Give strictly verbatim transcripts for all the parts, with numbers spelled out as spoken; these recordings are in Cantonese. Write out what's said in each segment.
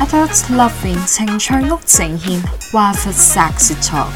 Adult Loving 情趣屋呈現 Waffle Sexy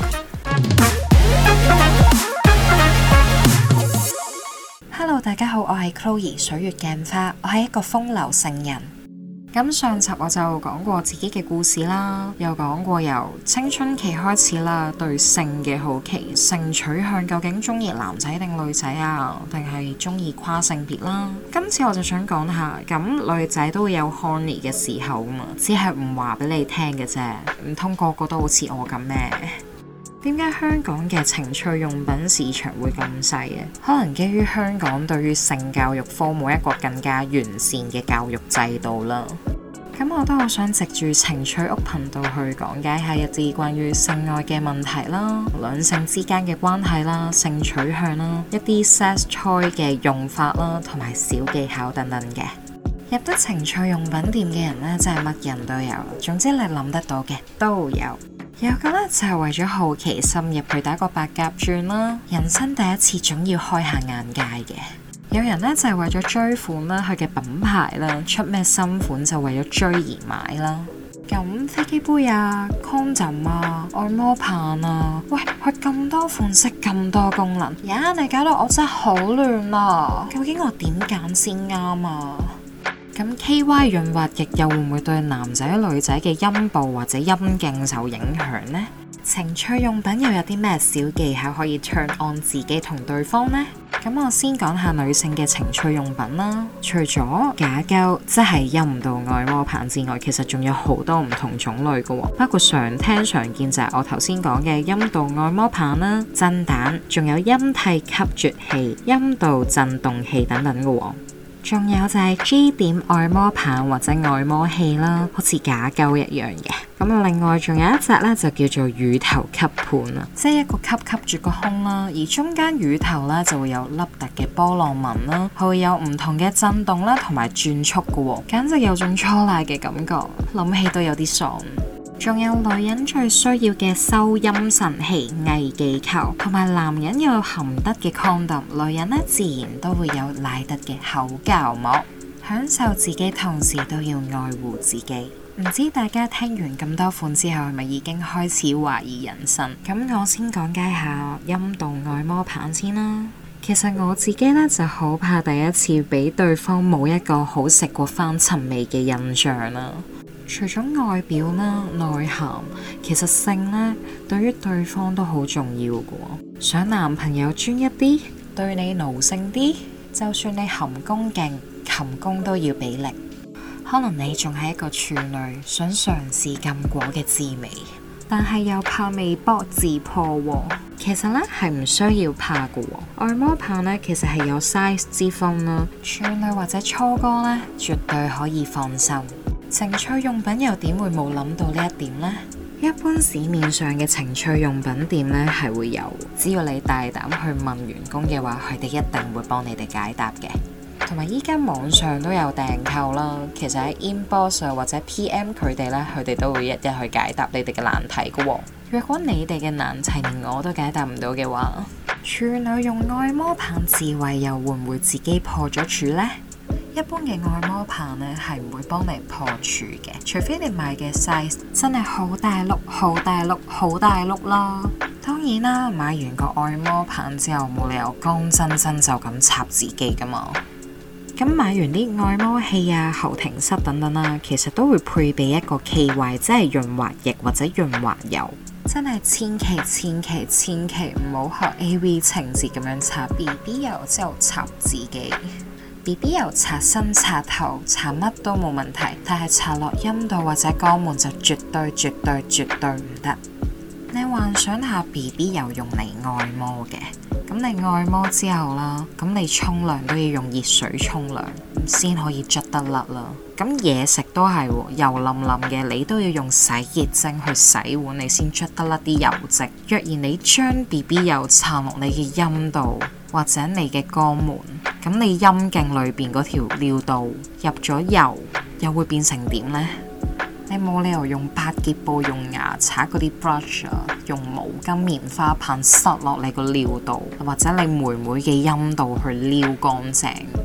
Talk。Hello， 大家好，我係 Chloe 水月鏡花，我係一個風流聖人。咁上集我就講過自己嘅故事啦，又講過由青春期開始啦，對性嘅好奇，性取向究竟中意男仔定女仔啊，定係中意跨性別啦。今次我就想講下，咁女仔都會有 horny 嘅時候啊嘛，只係唔話俾你聽嘅啫，唔通個個都好似我咁咩？點解香港嘅情趣用品市場會咁細嘅？可能基於香港對於性教育科冇一個更加完善嘅教育制度啦。咁我都好想藉住情趣屋頻道去講解下一啲關於性愛嘅問題啦，兩性之間嘅關係啦，性取向啦，一啲 sex toy 嘅用法啦，同埋小技巧等等嘅。入得情趣用品店嘅人呢，真係乜人都有，總之你諗得到嘅都有。有個呢，就係為咗好奇深入去打個白鴿轉啦，人生第一次總要開下眼界嘅。有人呢，就係為咗追款啦，佢嘅品牌啦，出咩新款就為咗追而買啦。咁飛機杯啊、condom 啊、按摩棒啊，喂，佢咁多款式咁多功能，呀，你搞到我真係好亂啊！究竟我點揀先啱啊？咁 K Y 潤滑液又會唔會對男仔女仔嘅陰部或者陰莖受影響呢？情趣用品又有啲咩小技巧可以 turn on 自己同對方呢？咁我先講下女性嘅情趣用品啦。除咗假膠即係陰道按摩棒之外，其實仲有好多唔同種類嘅，包括常聽常見就係我頭先講嘅陰道按摩棒啦、震蛋，仲有陰蒂吸啜器、陰道震動器等等嘅。仲有就係 G 點按摩棒或者按摩器啦，好似假膠一樣嘅。咁另外仲有一隻咧，就叫做乳頭吸盤啦，即係一個吸吸住個胸啦，而中間乳頭咧就會有凹凸嘅波浪紋啦，佢會有唔同嘅震動啦，同埋轉速嘅，簡直有種初奶嘅感覺，諗起都有啲爽。仲有女人最需要嘅收陰神器偽技球，同埋男人有含得嘅 condom， 女人呢自然都會有賴得嘅口交膜。享受自己同時都要愛護自己。唔知大家聽完咁多款之後係咪已經開始懷疑人生？咁我先講解下陰道按摩棒先啦。其實我自己呢就好怕第一次俾對方冇一個好食過翻尋味嘅印象啦。除咗外表啦、內涵，其實性呢對於對方都好重要嘅。想男朋友專一啲，對你奴性啲，就算你含功勁，擒功都要俾力。可能你仲係一個處女，想嘗試禁果嘅滋味，但係又怕未卜自破喎。其實呢係唔需要怕嘅。按摩棒呢其實係有 size 之分啦，處女或者初哥呢絕對可以放心。情趣用品又點會冇諗到呢一點呢？一般市面上嘅情趣用品店呢係會有，只要你大膽去問員工嘅話，佢哋一定會幫你哋解答嘅。同埋依家網上都有訂購啦，其實喺 inbox 或者 P M 佢哋呢，佢哋都會一一去解答你哋嘅難題嘅。若果你哋嘅難題連我都解答唔到嘅話，處女用按摩棒自慰又會唔會自己破咗處呢？一般嘅按摩棒呢係唔會幫你破處嘅，除非你買嘅 size 真係好大碌、好大碌、好大碌啦。當然啦，買完個按摩棒之後冇理由乾真真就咁插自己噶嘛。咁買完啲按摩器啊、後庭塞等等啦，其實都會配備一個 K Y， 即係潤滑液或者潤滑油。真係千祈千祈千祈唔好學 A V 情節咁樣擦 B B 油之後插自己。B B 油擦身擦頭擦乜都冇問題，但係擦落陰道或者肛門就絕對絕對絕對唔得。你幻想下 B B 油用嚟按摩嘅，咁你按摩之後啦，咁你沖涼都要用熱水沖涼先可以捽得甩啦。咁嘢食都係喎，油淋淋嘅，你都要用洗潔精去洗碗，你先捽得甩啲油漬。若然你將 B B 油搽落你嘅陰道或者你嘅肛門，咁你陰莖裏邊嗰條尿道入咗油，又會變成點呢？你冇理由用百潔布、用牙刷嗰啲 brush 啊，用毛巾、棉花棒塞落你個尿道，或者你妹妹嘅陰道去撩乾淨。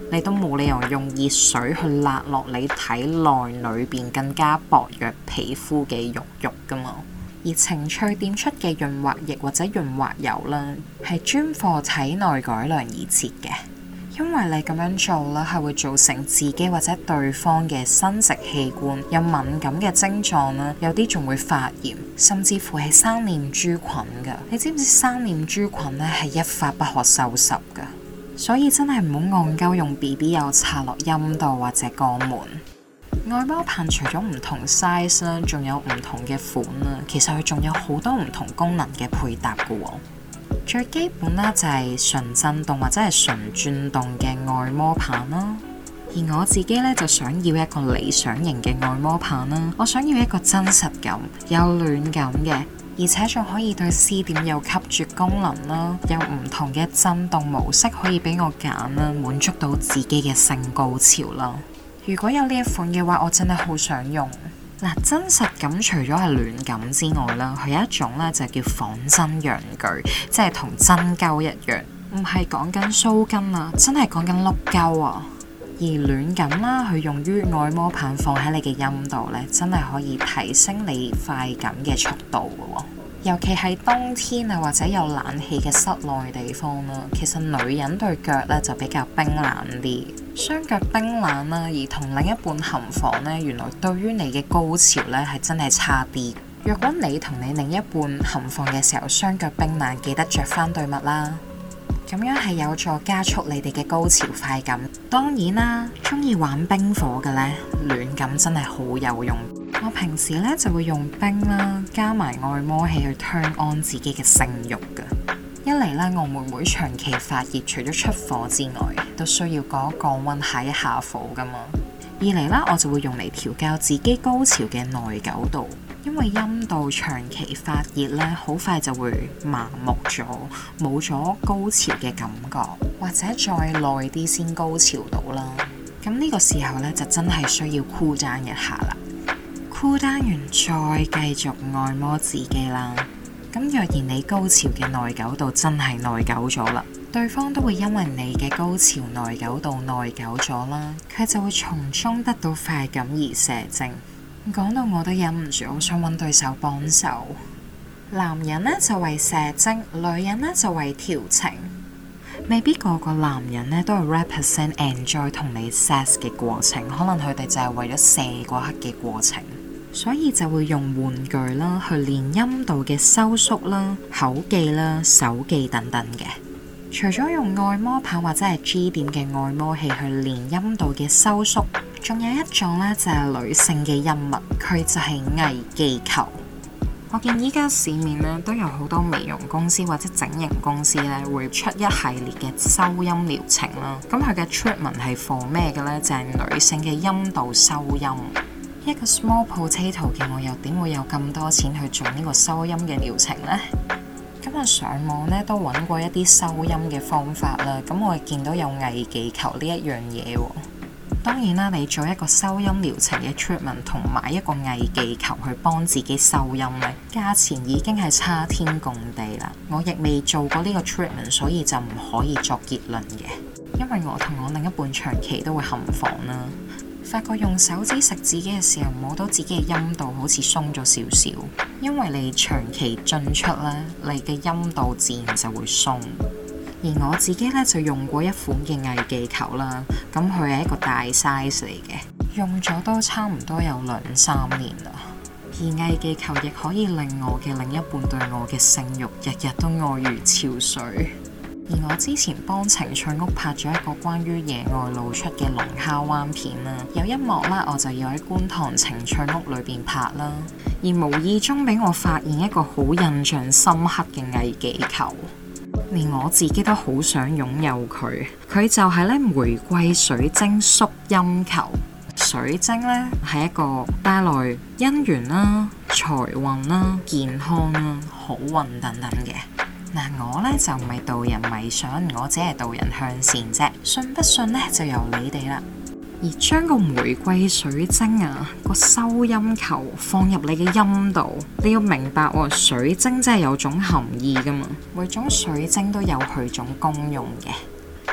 你都冇理由用熱水去辣落你體內裏邊更加薄弱皮膚嘅肉肉噶嘛。而情趣店出嘅潤滑液或者潤滑油啦，係專貨體內改良而設嘅。因為你咁樣做啦，係會造成自己或者對方嘅生殖器官有敏感嘅症狀啦，有啲仲會發炎，甚至乎係生念珠菌噶。你知唔知生念珠菌咧係一發不可收拾噶？所以真係唔好戇鳩用 B B 油插落陰道或者肛門。愛摩棒除咗唔同 size 啦，仲有唔同嘅款啦，其實佢仲有好多唔同功能嘅配搭噶喎。最基本啦就係純震動或者係純轉動嘅愛摩棒啦。而我自己咧就想要一個理想型嘅愛摩棒啦，我想要一個真實感、有暖感嘅，而且仲可以對 C 點有吸啜功能啦，有唔同嘅震動模式可以俾我揀啦，滿足到自己嘅性高潮啦。如果有呢一款嘅話，我真係好想用。嗱，真實感除咗係暖感之外啦，佢有一種咧就叫仿真陽具，即係同真膠一樣，唔係講緊鬚根啊，真係講緊粒膠啊。而暖感啦，佢用於愛摩棒放喺你嘅陰道咧，真係可以提升你快感嘅速度嘅喎。尤其係冬天啊，或者有冷氣嘅室內地方啦，其實女人對腳咧就比較冰冷啲，雙腳冰冷啦，而同另一半行房咧，原來對於你嘅高潮咧係真係差啲。若果你同你另一半行房嘅時候雙腳冰冷，記得着翻對襪啦，咁樣係有助加速你哋嘅高潮快感。當然啦，中意玩冰火嘅咧，暖感真係好有用。我平時咧就會用冰啦，加埋按摩器去 turn on 自己嘅性慾噶。一嚟咧，我妹妹長期發熱，除咗出火之外，都需要降一降溫、下一下火噶嘛。二嚟啦，我就會用嚟調教自己高潮嘅耐久度，因為陰道長期發熱咧，好快就會麻木咗，冇咗高潮嘅感覺，或者再耐啲先高潮到啦。咁呢個時候咧，就真係需要 cool down一下啦。cool down完再繼續按摩自己啦。咁若然你高潮嘅耐久度真係耐久咗啦，對方都會因為你嘅高潮耐久度耐久咗啦，佢就會從中得到快感而射精。講到我都忍唔住，我想揾對手幫手。男人呢就為射精，女人呢就為調情。未必個個男人呢都係 represent enjoy 同你 sex 嘅過程，可能佢哋就係為咗射嗰刻嘅過程。所以就會用玩具啦，去練陰道嘅收縮啦、口技啦、手技等等嘅。除咗用按摩棒或者係 G 點嘅按摩器去練陰道嘅收縮，仲有一種咧就係女性嘅陰物，佢就係藝技球。我見依家市面咧都有好多美容公司或者整形公司咧會出一系列嘅收陰療程啦。咁佢嘅 treatment 係 for 咩嘅咧？就係女性嘅陰道收陰。一個 small potato 嘅我又點會有咁多錢去做呢個收陰嘅療程呢？咁我上網咧都揾過一啲收陰嘅方法啦，咁我見到有藝技球呢一樣嘢喎。當然啦，你做一個收陰療程嘅 treatment 同買一個藝技球去幫自己收陰咧，價錢已經係差天共地啦。我亦未做過呢個 treatment， 所以就唔可以作結論嘅。因為我同我另一半長期都會行房啦。發覺用手指食自己嘅時候，摸到自己嘅陰道好似鬆咗少少，因為你長期進出咧，你嘅陰道自然就會鬆。而我自己咧就用過一款嘅藝技球啦，咁佢係一個大 size 嚟嘅，用咗都差唔多有兩三年啦。而藝技球亦可以令我嘅另一半對我嘅性慾日日都愛如潮水。而我之前幫情趣屋拍咗一個關於野外露出嘅龍蝦灣片啦，有一幕啦，我就要喺觀塘情趣屋裏邊拍啦，而無意中俾我發現一個好印象深刻嘅藝技球，連我自己都好想擁有佢。佢就係咧玫瑰水晶縮陰球。水晶咧係一個帶來姻緣啦、財運啦、健康啦、好運等等嘅。嗱，我咧就唔係導人迷信，我只係導人向善啫。信不信咧就由你哋啦。而將個玫瑰水晶啊，個收陰球放入你嘅陰道，你要明白喎，水晶真係有種含義噶嘛。每種水晶都有佢種功用嘅。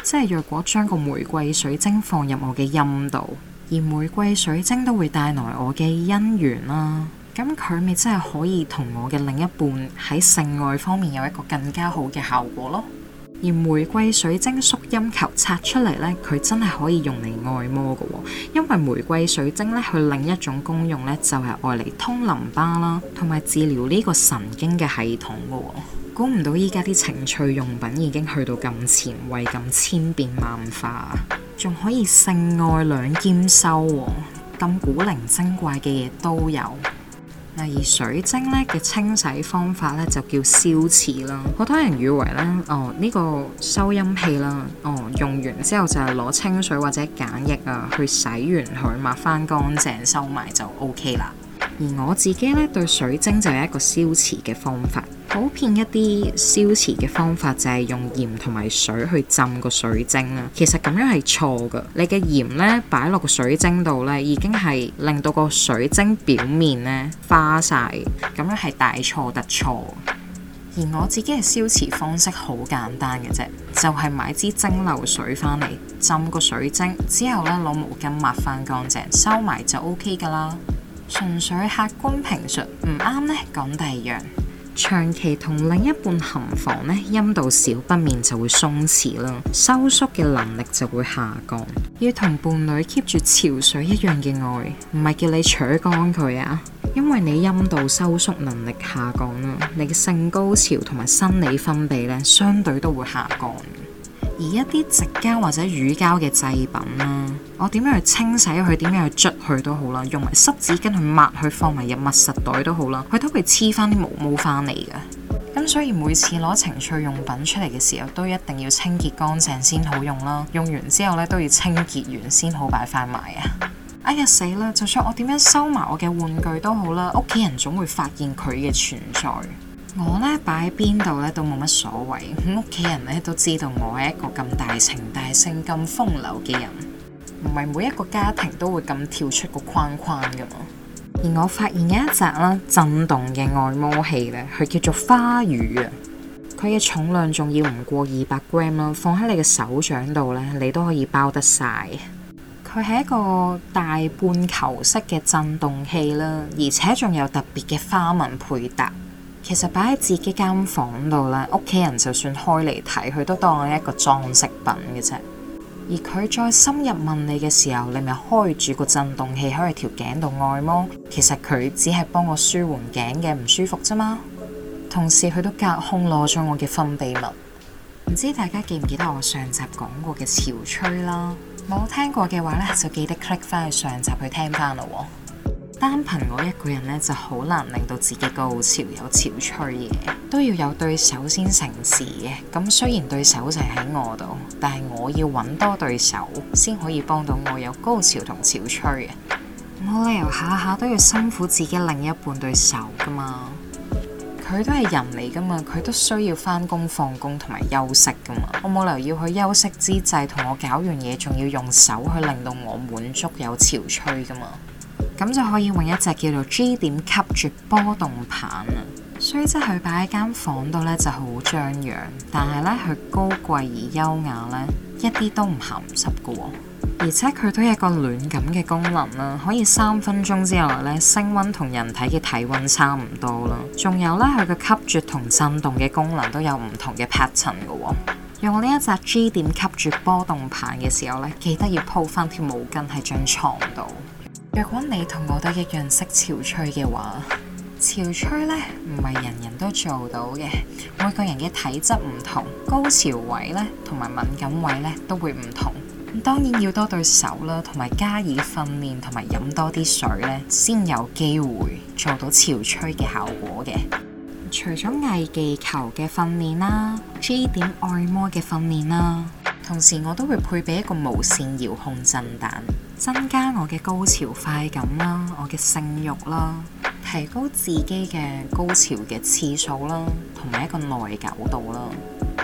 即係若果將個玫瑰水晶放入我嘅陰度，而玫瑰水晶都會帶來我嘅姻緣啦，咁佢咪真係可以同我嘅另一半喺性愛方面有一個更加好嘅效果咯。而玫瑰水晶縮陰球拆出嚟呢，佢真係可以用嚟按摩嘅，因為玫瑰水晶呢，佢另一種功用呢，就係愛嚟通淋巴啦，同埋治療呢個神經嘅系統嘅。估唔到依家啲情趣用品已經去到咁前衛、咁千變萬化，仲可以性愛兩兼修，咁古靈精怪嘅嘢都有。而水晶咧嘅清洗方法咧就叫消磁啦。好多人以為咧，哦呢個收音器啦，哦用完之後就係攞清水或者鹼液啊去洗完佢，抹翻乾淨收埋就 OK 啦。而我自己咧對水晶就有一個消磁嘅方法。普遍一啲消磁嘅方法就係用鹽同埋水去浸個水晶啦。其實咁樣係錯㗎。你嘅鹽咧擺落個水晶度咧，已經係令到個水晶表面咧花晒，咁樣係大錯特錯。而我自己嘅消磁方式好簡單嘅啫，就係買支蒸餾水翻嚟浸個水晶，之後咧攞毛巾抹翻乾淨，收埋就 OK 㗎啦。純粹客觀評述，唔啱咧講第二樣。長期同另一半行房呢，陰道小不免就會鬆弛啦，收縮嘅能力就會下降。要同伴侶 keep 住潮水一樣嘅愛，唔係叫你扯乾佢啊，因為你陰道收縮能力下降啦，你嘅性高潮同埋生理分泌呢，相對都會下降。而一啲直膠或者乳膠嘅製品啦，我點樣去清洗佢，點樣去捽佢都好啦，用埋濕紙巾去抹佢，放埋入密實袋都好啦，佢都會黐翻啲毛毛翻嚟嘅。咁所以每次攞情趣用品出嚟嘅時候，都一定要清潔乾淨先好用啦。用完之後咧，都要清潔完先好擺翻埋啊！哎呀死啦！就算我點樣收埋我嘅玩具都好啦，屋企人總會發現佢嘅存在。我咧擺喺邊度咧都冇乜所謂，屋企人咧都知道我係一個咁大情大性、咁風流嘅人，唔係每一個家庭都會咁跳出個框框噶嘛。而我發現有一隻啦震動嘅按摩器咧，佢叫做花魚啊，佢嘅重量仲要唔過二百 gram 啦，放喺你嘅手掌度咧，你都可以包得晒。佢係一個大半球式嘅震動器啦，而且仲有特別嘅花紋配搭。其實擺喺自己間房度咧，屋企人就算開嚟睇，佢都當係一個裝飾品嘅啫。而佢再深入問你嘅時候，你咪開住個震動器喺條頸度按摩，其實佢只係幫我舒緩頸嘅唔舒服啫嘛。同時佢都隔空攞咗我嘅分泌物。唔知大家記唔記得我上集講過嘅潮吹啦？冇聽過嘅話咧，就記得 click 翻去上集去聽翻咯喎。單憑我一個人咧，就好難令到自己高潮有潮吹嘅，都要有對手先成事嘅。咁雖然對手就喺我度，但係我要揾多對手先可以幫到我有高潮同潮吹嘅。冇理由下下都要辛苦自己另一半對手噶嘛，佢都係人嚟噶嘛，佢都需要返工放工同埋休息噶嘛。我冇理由要去休息之際同我搞完嘢，仲要用手去令到我滿足有潮吹噶嘛。咁就可以用一隻叫做 G 點吸絕波動棒啊，雖則佢擺喺間房度咧就好張揚，但係咧佢高貴而優雅咧，一啲都唔鹹濕噶喎。而且佢都有一個暖感嘅功能啦，可以三分鐘之內咧升溫同人體嘅體溫差唔多啦。仲有咧佢嘅吸絕同震動嘅功能都有唔同嘅 pattern 噶喎。用呢一隻 G 點吸絕波動棒嘅時候咧，記得要鋪翻條毛巾喺張床度。若果你同我都一樣識潮吹嘅話，潮吹呢唔係人人都做到嘅，每個人嘅體質唔同，高潮位呢同埋敏感位呢都會唔同。當然要多對手啦，同埋加以訓練，同埋飲多啲水呢，先有機會做到潮吹嘅效果嘅。除咗偽技球嘅訓練啦 ，G 點按摩嘅訓練啦，同時我都會配備一個無線遙控震彈，增加我嘅高潮快感啦，我嘅性慾啦，提高自己嘅高潮嘅次數啦，同埋一個耐久度啦。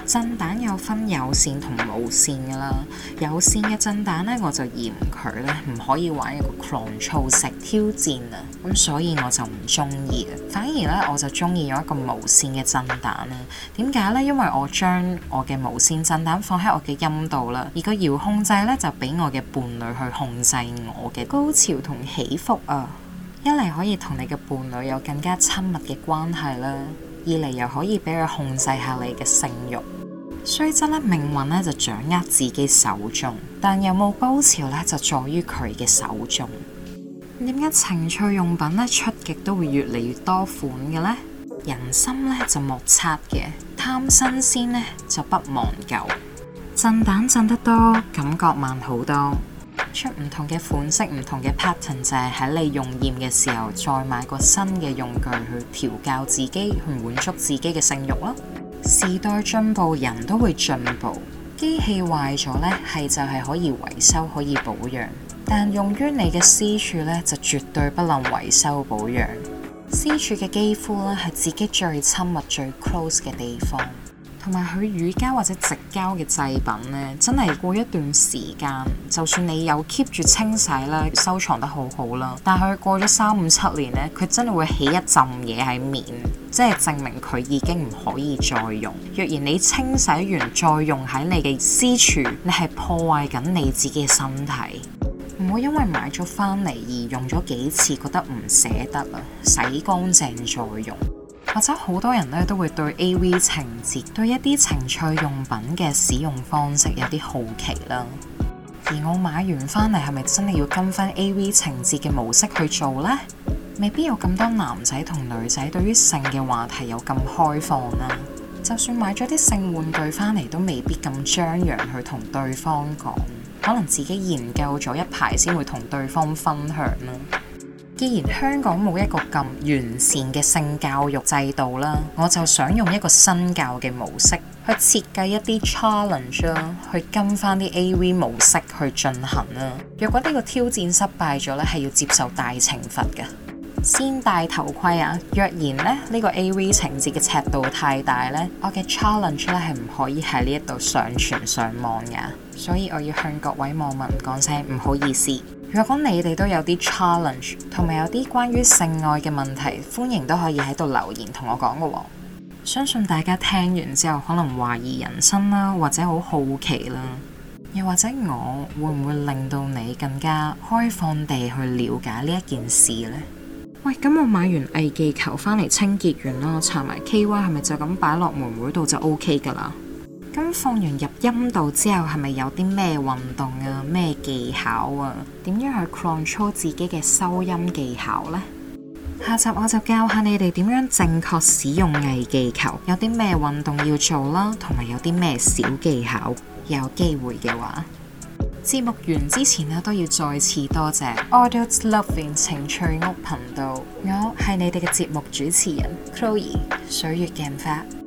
震蛋有分有線同無線噶啦，有線嘅震蛋咧我就嫌佢咧唔可以玩一個 control 式挑戰啊，咁所以我就唔中意嘅。反而咧我就中意用一個無線嘅震蛋啦。點解咧？因為我將我嘅無線震蛋放喺我嘅陰道啦，而個遙控掣咧就俾我嘅伴侶去控制我嘅高潮同起伏啊。一嚟可以同你嘅伴侶有更加親密嘅關係啦，二嚟又可以俾佢控制下你嘅性慾。雖則咧命運咧就掌握自己手中，但有冇高潮咧就在於佢嘅手中。點解情趣用品咧出極都會越嚟越多款嘅呢？人心咧就莫測嘅，貪新鮮咧就不忘舊。震蛋震得多，感覺慢好多。出唔同嘅款式，唔同嘅 pattern 就係喺你用厭嘅時候，再買個新嘅用具去調教自己，去滿足自己嘅性慾咯。時代進步，人都會進步。機器壞咗呢，係就係可以維修，可以保養，但用於你嘅私處呢，就絕對不能維修保養。私處嘅肌膚呢，係自己最親密、最 close 嘅地方。同埋佢乳膠或者直膠嘅製品呢，真係過一段時間，就算你有 keep 住清洗啦，收藏得好好啦，但係佢過咗三五七年呢，佢真係會起一陣嘢喺面，即係證明佢已經唔可以再用。若然你清洗完再用喺你嘅私處，你係破壞緊你自己嘅身體。唔會因為買咗翻嚟而用咗幾次覺得唔捨得啦，洗乾淨再用。或者好多人咧都會對 A V 情節、對一啲情趣用品嘅使用方式有啲好奇啦。而我買完翻嚟係咪真係要跟翻 A V 情節嘅模式去做呢？未必有咁多男仔同女仔對於性嘅話題有咁開放啦。就算買咗啲性玩具翻嚟，都未必咁張揚去同對方講，可能自己研究咗一排先會同對方分享啦。既然香港冇一個咁完善嘅性教育制度啦，我就想用一個新教嘅模式去設計一啲 challenge 啦，去跟翻啲 A V 模式去進行啦。若果呢個挑戰失敗咗咧，係要接受大懲罰嘅。先戴頭盔啊！若然咧呢、呢個 A V 情節嘅尺度太大咧，我嘅 challenge 咧係唔可以喺呢一度上傳上網噶，所以我要向各位網民講聲唔好意思。如果你哋都有啲 challenge 同埋有啲關於性愛嘅問題，歡迎都可以喺度留言同我講嘅喎。相信大家聽完之後可能懷疑人生啦，或者好好奇啦，又或者我會唔會令到你更加開放地去了解呢一件事呢？喂，咁我買完藝技球翻嚟清潔完啦，搽埋 K Y 係咪就咁擺落妹妹度就 OK 噶啦？咁放完入陰道之後，係咪有啲咩運動啊、咩技巧啊？點樣去 control 自己嘅收音技巧呢？下集我就教下你哋點樣正確使用藝技球，有啲咩運動要做啦，同埋有啲咩小技巧。有機會嘅話，節目完之前呢，都要再次多謝 Adult Loving 情趣屋頻道，我係你哋嘅節目主持人 Chloe 水月鏡花。